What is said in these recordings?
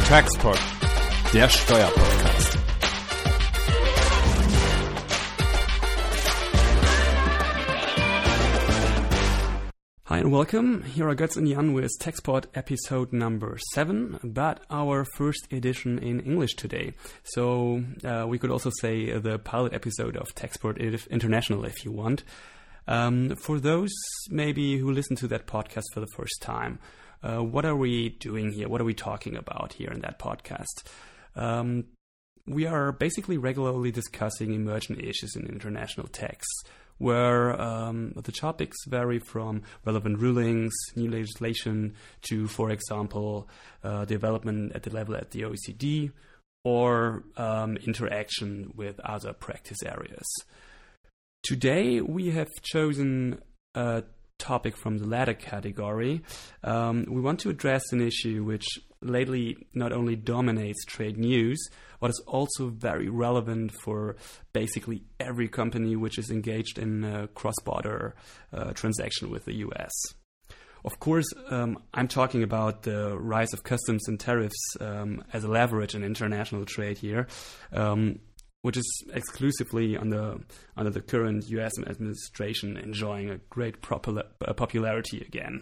Taxpod, der Steuerpodcast. Hi and welcome. Here are Götz and Jan with Taxpod episode number 7, but our first edition in English today. So we could also say the pilot episode of Taxpod International if you want. For those maybe who listen to that podcast for the first time, what are we doing here? What are we talking about here in that podcast? We are basically regularly discussing emergent issues in international tax, where the topics vary from relevant rulings, new legislation, to, for example, development at the level at the OECD, or interaction with other practice areas. Today, we have chosen a topic from the latter category. We want to address an issue which lately not only dominates trade news, but is also very relevant for basically every company which is engaged in a cross-border transaction with the US. Of course, I'm talking about the rise of customs and tariffs as a leverage in international trade here, which is exclusively under the current US administration enjoying a great popularity again.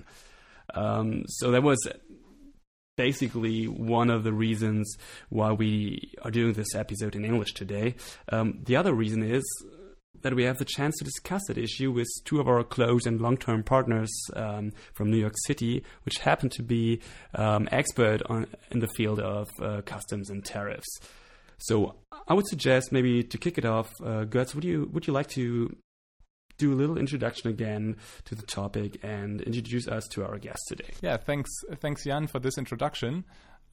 So that was basically one of the reasons why we are doing this episode in English today. The other reason is that we have the chance to discuss that issue with two of our close and long-term partners from New York City, which happen to be expert in the field of customs and tariffs. So I would suggest maybe to kick it off, Götz, would you like to do a little introduction again to the topic and introduce us to our guest today? Yeah, thanks Jan for this introduction.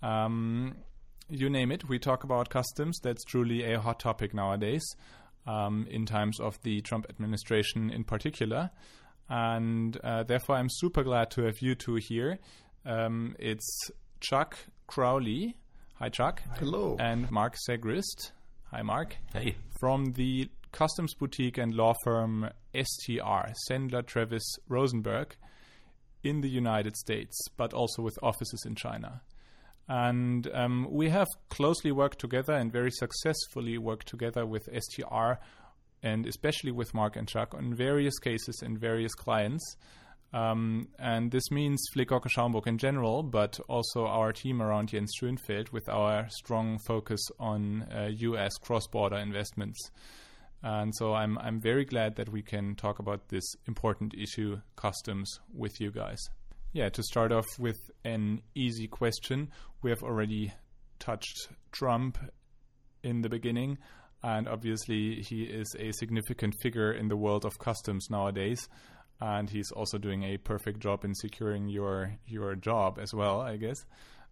You name it, we talk about customs. That's truly a hot topic nowadays, in times of the Trump administration in particular. And therefore I'm super glad to have you two here. It's Chuck Crowley. Hi, Chuck. Hello. And Mark Segrist. Hi, Mark. Hey. From the customs boutique and law firm STR, Sendler Travis Rosenberg, in the United States, but also with offices in China. And we have closely worked together and very successfully worked together with STR and especially with Mark and Chuck on various cases and various clients. And this means Flick-Orca Schaumburg in general, but also our team around Jens Schönfeld with our strong focus on US cross-border investments. And so I'm very glad that we can talk about this important issue, customs, with you guys. Yeah, to start off with an easy question, we have already touched Trump in the beginning, and obviously he is a significant figure in the world of customs nowadays. And he's also doing a perfect job in securing your job as well, I guess.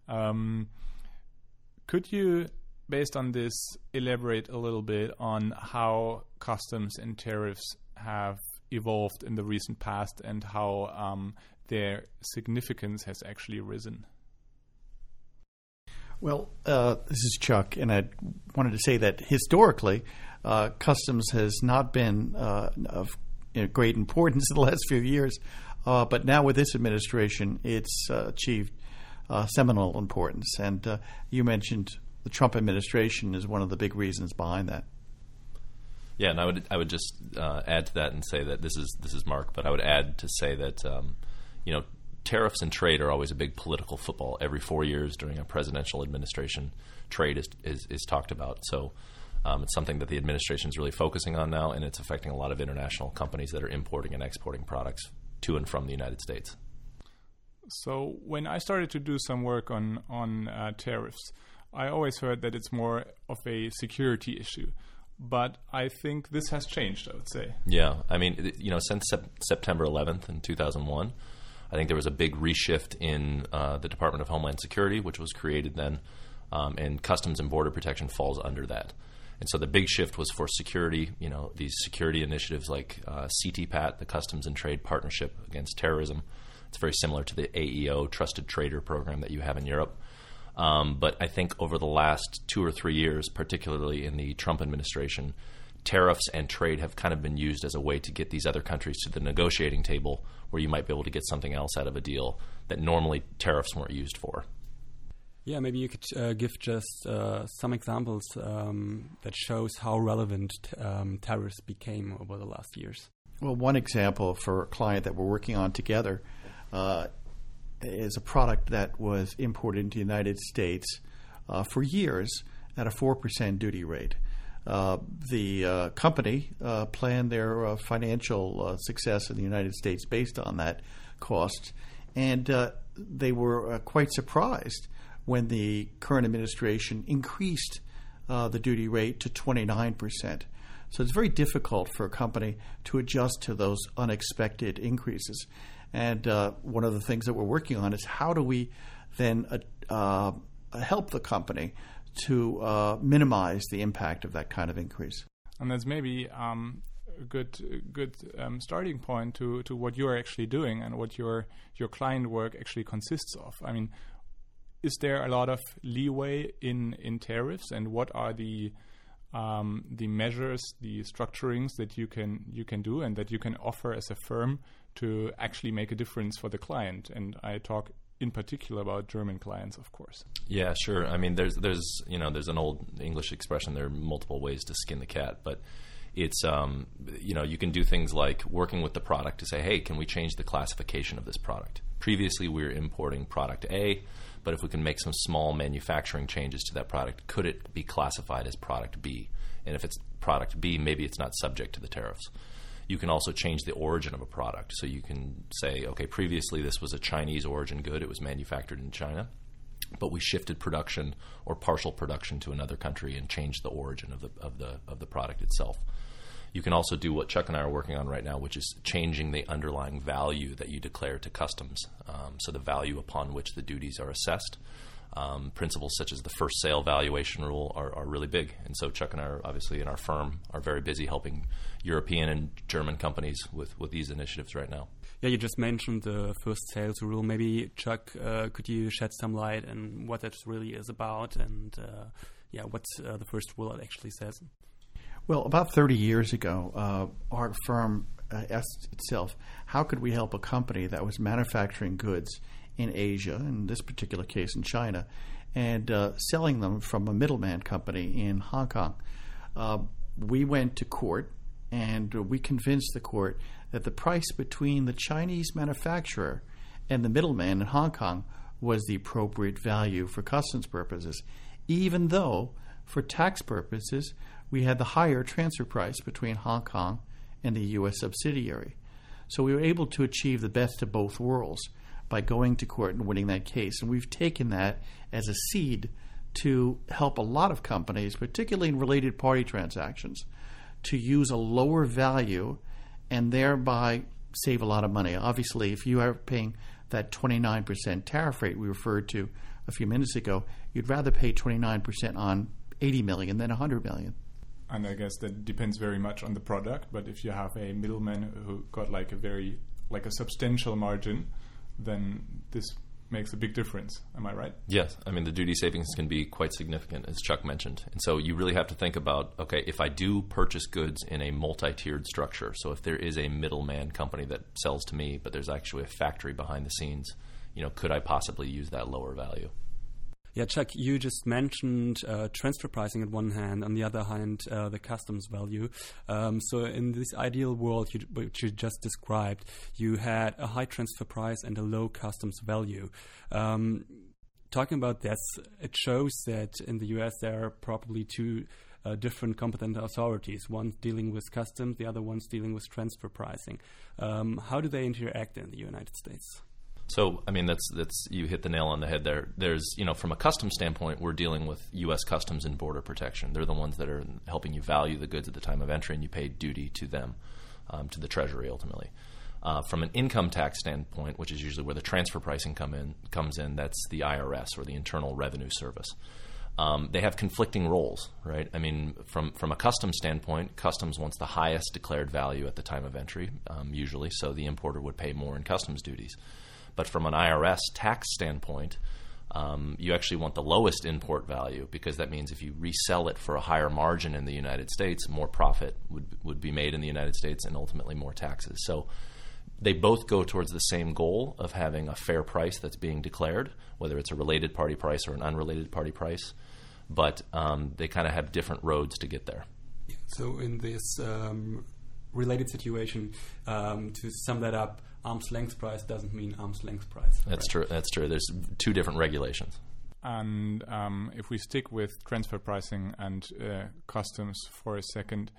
Could you, based on this, elaborate a little bit on how customs and tariffs have evolved in the recent past and how their significance has actually risen? Well, this is Chuck, and I wanted to say that historically, customs has not been of great importance in the last few years, but now with this administration, it's achieved seminal importance. And you mentioned the Trump administration is one of the big reasons behind that. Yeah, and I would just add to that and say that this is Mark, but I would add to say that tariffs and trade are always a big political football. Every 4 years during a presidential administration, trade is talked about. So it's something that the administration is really focusing on now, and it's affecting a lot of international companies that are importing and exporting products to and from the United States. So when I started to do some work on tariffs, I always heard that it's more of a security issue. But I think this has changed, I would say. Yeah. I mean, since September 11th in 2001, I think there was a big reshift in the Department of Homeland Security, which was created then, and Customs and Border Protection falls under that. And so the big shift was for security, these security initiatives like CTPAT, the Customs and Trade Partnership Against Terrorism. It's very similar to the AEO, Trusted Trader program that you have in Europe. But I think over the last 2 or 3 years, particularly in the Trump administration, tariffs and trade have kind of been used as a way to get these other countries to the negotiating table where you might be able to get something else out of a deal that normally tariffs weren't used for. Yeah, maybe you could give just some examples that shows how relevant tariffs became over the last years. Well, one example for a client that we're working on together is a product that was imported into the United States for years at a 4% duty rate. The company planned their financial success in the United States based on that cost, and they were quite surprised when the current administration increased the duty rate to 29%. So it's very difficult for a company to adjust to those unexpected increases. And one of the things that we're working on is how do we then help the company to minimize the impact of that kind of increase. And that's maybe a good starting point to what you are actually doing and what your client work actually consists of. I mean, is there a lot of leeway in tariffs, and what are the measures, the structurings that you can do and that you can offer as a firm to actually make a difference for the client? And I talk in particular about German clients, of course. Yeah, sure. I mean, there's an old English expression. There are multiple ways to skin the cat, but it's you can do things like working with the product to say, hey, can we change the classification of this product? Previously, we were importing product A, but if we can make some small manufacturing changes to that product, could it be classified as product B? And if it's product B, maybe it's not subject to the tariffs. You can also change the origin of a product. So you can say, okay, previously this was a Chinese origin good. It was manufactured in China, but we shifted production or partial production to another country and changed the origin of the product itself. You can also do what Chuck and I are working on right now, which is changing the underlying value that you declare to customs. So the value upon which the duties are assessed. Principles such as the first sale valuation rule are really big. And so Chuck and I are obviously in our firm are very busy helping European and German companies with these initiatives right now. Yeah, you just mentioned the first sales rule. Maybe, Chuck, could you shed some light on what that really is about and what the first rule actually says? Well, about 30 years ago, our firm asked itself, how could we help a company that was manufacturing goods in Asia, in this particular case in China, and selling them from a middleman company in Hong Kong? We went to court, and we convinced the court that the price between the Chinese manufacturer and the middleman in Hong Kong was the appropriate value for customs purposes, even though, for tax purposes, we had the higher transfer price between Hong Kong and the U.S. subsidiary. So we were able to achieve the best of both worlds by going to court and winning that case. And we've taken that as a seed to help a lot of companies, particularly in related party transactions, to use a lower value and thereby save a lot of money. Obviously, if you are paying that 29% tariff rate we referred to a few minutes ago, you'd rather pay 29% on $80 million than $100 million. And I guess that depends very much on the product. But if you have a middleman who got like a substantial margin, then this makes a big difference. Am I right? Yes. I mean, the duty savings can be quite significant, as Chuck mentioned. And so you really have to think about, okay, if I do purchase goods in a multi-tiered structure, so if there is a middleman company that sells to me, but there's actually a factory behind the scenes, could I possibly use that lower value? Yeah, Chuck, you just mentioned transfer pricing on one hand, on the other hand, the customs value. So in this ideal world which you just described, you had a high transfer price and a low customs value. Talking about this, it shows that in the US there are probably two different competent authorities, one dealing with customs, the other one's dealing with transfer pricing. How do they interact in the United States? So, I mean, that's you hit the nail on the head there. There's, from a customs standpoint, we're dealing with U.S. Customs and Border Protection. They're the ones that are helping you value the goods at the time of entry, and you pay duty to them, to the Treasury ultimately. From an income tax standpoint, which is usually where the transfer pricing comes in, that's the IRS or the Internal Revenue Service. They have conflicting roles, right? I mean, from a customs standpoint, customs wants the highest declared value at the time of entry, usually, so the importer would pay more in customs duties. But from an IRS tax standpoint, you actually want the lowest import value, because that means if you resell it for a higher margin in the United States, more profit would be made in the United States and ultimately more taxes. So They both go towards the same goal of having a fair price that's being declared, whether it's a related party price or an unrelated party price. But they kind of have different roads to get there. So in this related situation, to sum that up, arm's length price doesn't mean arm's length price. That's true. That's true. There's two different regulations. And if we stick with transfer pricing and customs for a second,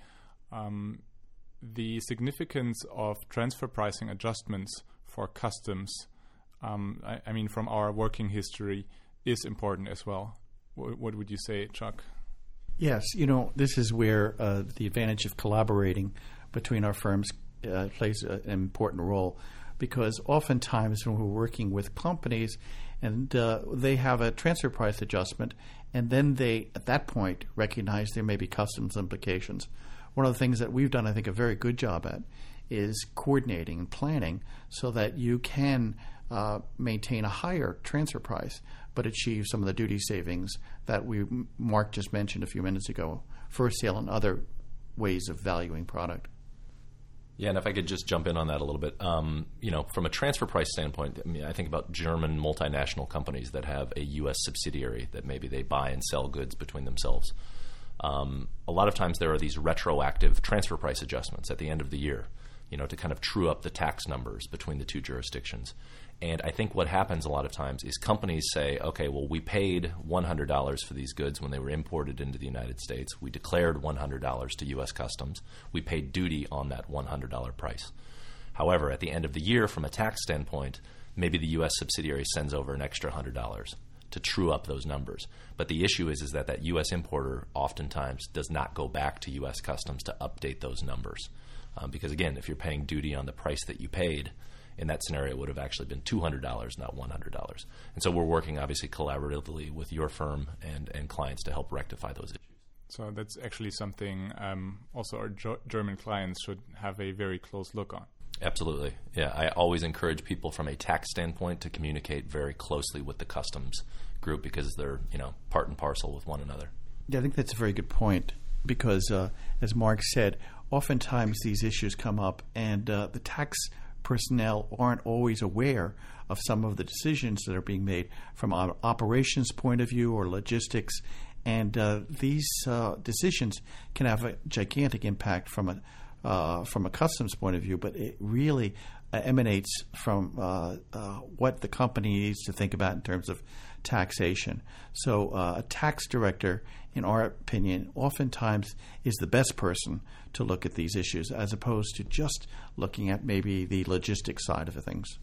the significance of transfer pricing adjustments for customs, I mean, from our working history, is important as well. What would you say, Chuck? Yes, this is where the advantage of collaborating between our firms plays an important role, because oftentimes when we're working with companies and they have a transfer price adjustment, and then they, at that point, recognize there may be customs implications. One of the things that we've done, I think, a very good job at is coordinating and planning so that you can maintain a higher transfer price but achieve some of the duty savings that Mark just mentioned a few minutes ago, for sale and other ways of valuing product. Yeah, and if I could just jump in on that a little bit, from a transfer price standpoint, I think about German multinational companies that have a U.S. subsidiary that maybe they buy and sell goods between themselves. A lot of times there are these retroactive transfer price adjustments at the end of the year, to kind of true up the tax numbers between the two jurisdictions. And I think what happens a lot of times is companies say, okay, well, we paid $100 for these goods when they were imported into the United States. We declared $100 to U.S. Customs. We paid duty on that $100 price. However, at the end of the year, from a tax standpoint, maybe the U.S. subsidiary sends over an extra $100 to true up those numbers. But the issue is that U.S. importer oftentimes does not go back to U.S. Customs to update those numbers. Because, again, if you're paying duty on the price that you paid, in that scenario, it would have actually been $200, not $100. And so we're working, obviously, collaboratively with your firm and clients to help rectify those issues. So that's actually something also our German clients should have a very close look on. Absolutely. Yeah, I always encourage people from a tax standpoint to communicate very closely with the customs group, because they're, part and parcel with one another. Yeah, I think that's a very good point, because as Mark said, oftentimes these issues come up, and the tax personnel aren't always aware of some of the decisions that are being made from an operations point of view or logistics, and these decisions can have a gigantic impact from a customs point of view, but it really emanates from what the company needs to think about in terms of taxation. So a tax director, in our opinion, oftentimes is the best person to look at these issues, as opposed to just looking at maybe the logistics side of things.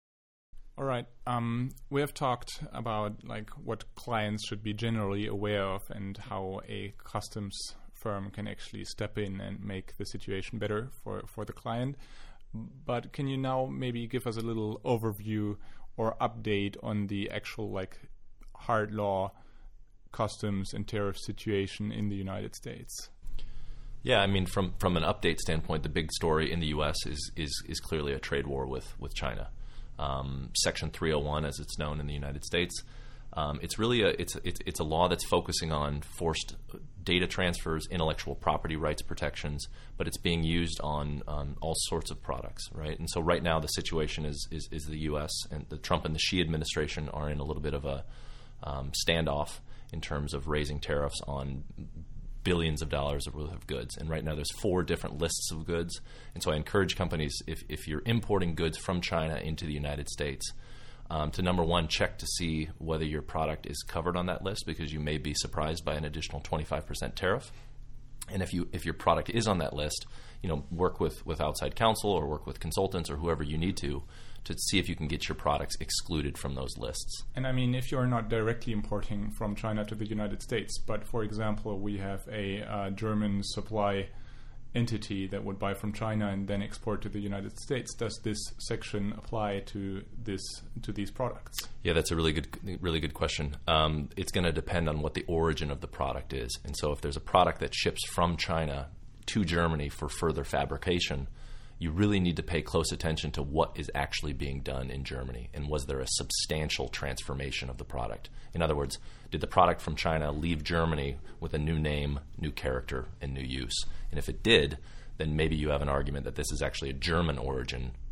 All right. We have talked about what clients should be generally aware of and how a customs firm can actually step in and make the situation better for the client. But can you now maybe give us a little overview or update on the actual hard law customs and tariff situation in the United States? Yeah, I mean, from an update standpoint, the big story in the U.S. is clearly a trade war with China. Section 301, as it's known in the United States, it's really it's a law that's focusing on forced data transfers, intellectual property rights protections, but it's being used on all sorts of products, right? And so right now the situation is the U.S. and the Trump and the Xi administration are in a little bit of a standoff in terms of raising tariffs on billions of dollars worth of goods. And right now there's 4 different lists of goods. And so I encourage companies, if you're importing goods from China into the United States, to number one, check to see whether your product is covered on that list, because you may be surprised by an additional 25% tariff. And if your product is on that list, work with outside counsel or work with consultants or whoever you need to see if you can get your products excluded from those lists. And I mean, if you're not directly importing from China to the United States, but for example, we have a German supply entity that would buy from China and then export to the United States, does this section apply to these products? Yeah, that's a really good question. It's going to depend on what the origin of the product is. And so if there's a product that ships from China to Germany for further fabrication, you really need to pay close attention to what is actually being done in Germany, and was there a substantial transformation of the product? In other words, did the product from China leave Germany with a new name, new character, and new use? And if it did, then maybe you have an argument that this is actually a German origin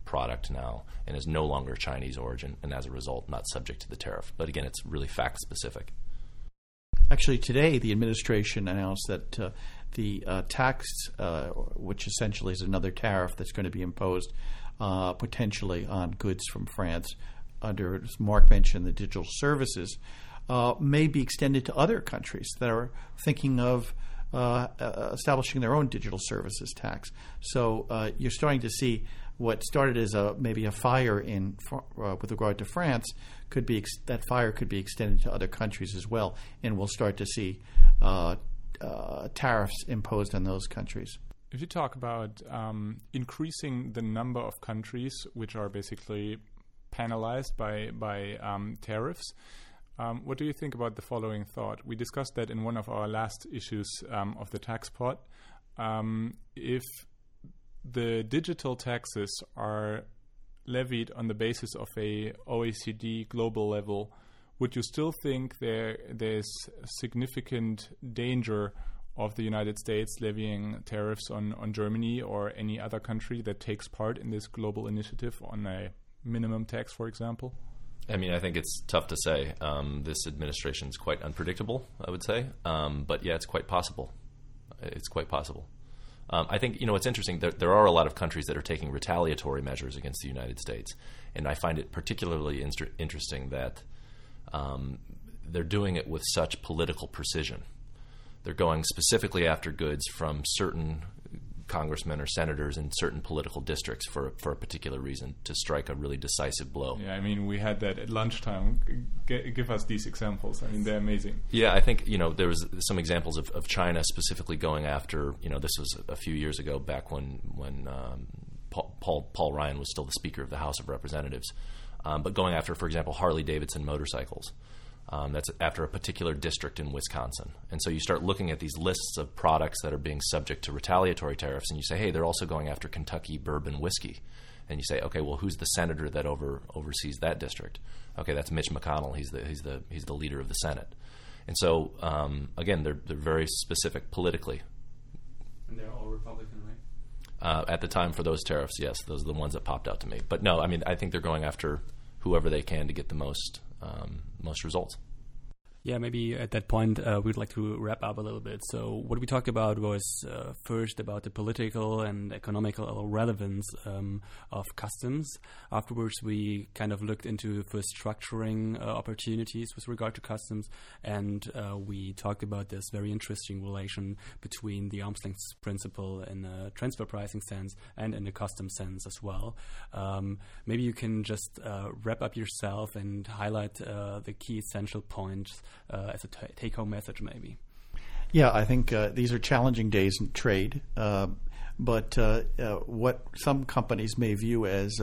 product now and is no longer Chinese origin, and as a result, not subject to the tariff. But again, it's really fact-specific. Actually, today the administration announced that the tax, which essentially is another tariff that's going to be imposed potentially on goods from France under, as Mark mentioned, the digital services, may be extended to other countries that are thinking of establishing their own digital services tax. So you're starting to see what started as maybe a fire with regard to France that fire could be extended to other countries as well, and we'll start to see tariffs imposed on those countries. If you talk about increasing the number of countries which are basically penalized by tariffs, what do you think about the following thought? We discussed that in one of our last issues of the tax pod. If the digital taxes are levied on the basis of a OECD global level, would you still think there's significant danger of the United States levying tariffs on Germany or any other country that takes part in this global initiative on a minimum tax, for example? I mean, I think it's tough to say. This administration is quite unpredictable, I would say. But yeah, it's quite possible. It's quite possible. I think, it's interesting. There are a lot of countries that are taking retaliatory measures against the United States. And I find it particularly interesting that they're doing it with such political precision. They're going specifically after goods from certain congressmen or senators in certain political districts for a particular reason, to strike a really decisive blow. Yeah, I mean, we had that at lunchtime. Give us these examples. I mean, they're amazing. Yeah, I think, there was some examples of China specifically going after, this was a few years ago, back when Paul Ryan was still the Speaker of the House of Representatives, but going after, for example, Harley-Davidson motorcycles. That's after a particular district in Wisconsin. And so you start looking at these lists of products that are being subject to retaliatory tariffs, and you say, hey, they're also going after Kentucky bourbon whiskey. And you say, okay, well, who's the senator that oversees that district? Okay, that's Mitch McConnell. He's the leader of the Senate. And so, again, they're very specific politically. And they're all Republican, right? At the time for those tariffs, yes, those are the ones that popped out to me. But no, I mean, I think they're going after whoever they can to get the most results. Yeah, maybe at that point we'd like to wrap up a little bit. So what we talked about was first about the political and economical relevance of customs. Afterwards, we kind of looked into first structuring opportunities with regard to customs, and we talked about this very interesting relation between the arm's length principle in a transfer pricing sense and in the customs sense as well. Maybe you can just wrap up yourself and highlight the key essential points as a take-home message, maybe. Yeah, I think these are challenging days in trade, but what some companies may view as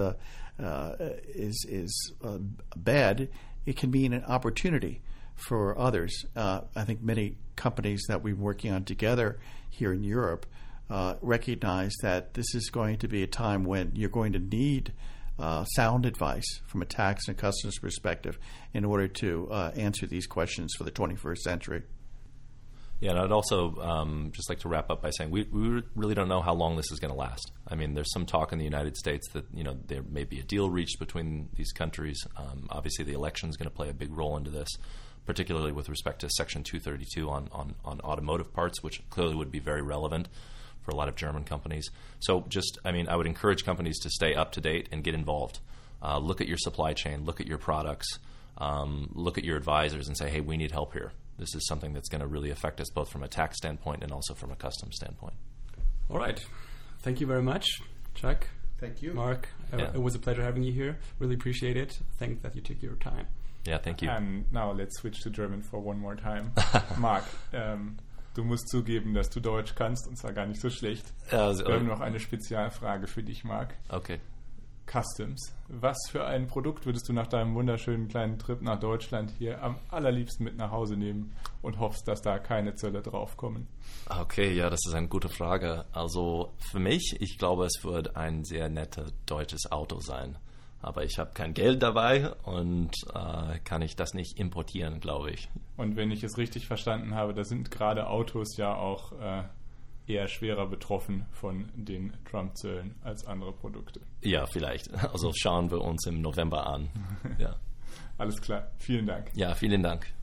is bad, it can be an opportunity for others. I think many companies that we're working on together here in Europe recognize that this is going to be a time when you're going to need sound advice from a tax and customs perspective in order to answer these questions for the 21st century. Yeah, and I'd also just like to wrap up by saying we really don't know how long this is going to last. I mean, there's some talk in the United States that there may be a deal reached between these countries. Obviously, the election is going to play a big role into this, particularly with respect to Section 232 on automotive parts, which clearly would be very relevant for a lot of German companies. So I would encourage companies to stay up to date and get involved. Look at your supply chain, look at your products, look at your advisors and say, hey, we need help here. This is something that's going to really affect us both from a tax standpoint and also from a customs standpoint. All right. Thank you very much, Chuck. Thank you. Mark, it was a pleasure having you here. Really appreciate it. Thanks that you took your time. Yeah, thank you. And now let's switch to German for one more time. Mark, du musst zugeben, dass du Deutsch kannst, und zwar gar nicht so schlecht. Wir haben noch eine Spezialfrage für dich, Mark. Okay. Customs. Was für ein Produkt würdest du nach deinem wunderschönen kleinen Trip nach Deutschland hier am allerliebsten mit nach Hause nehmen und hoffst, dass da keine Zölle draufkommen? Okay, ja, das ist eine gute Frage. Also für mich, ich glaube, es wird ein sehr nettes deutsches Auto sein. Aber ich habe kein Geld dabei und kann ich das nicht importieren, glaube ich. Und wenn ich es richtig verstanden habe, da sind gerade Autos ja auch eher schwerer betroffen von den Trump-Zöllen als andere Produkte. Ja, vielleicht. Also schauen wir uns im November an. Ja. Alles klar. Vielen Dank. Ja, vielen Dank.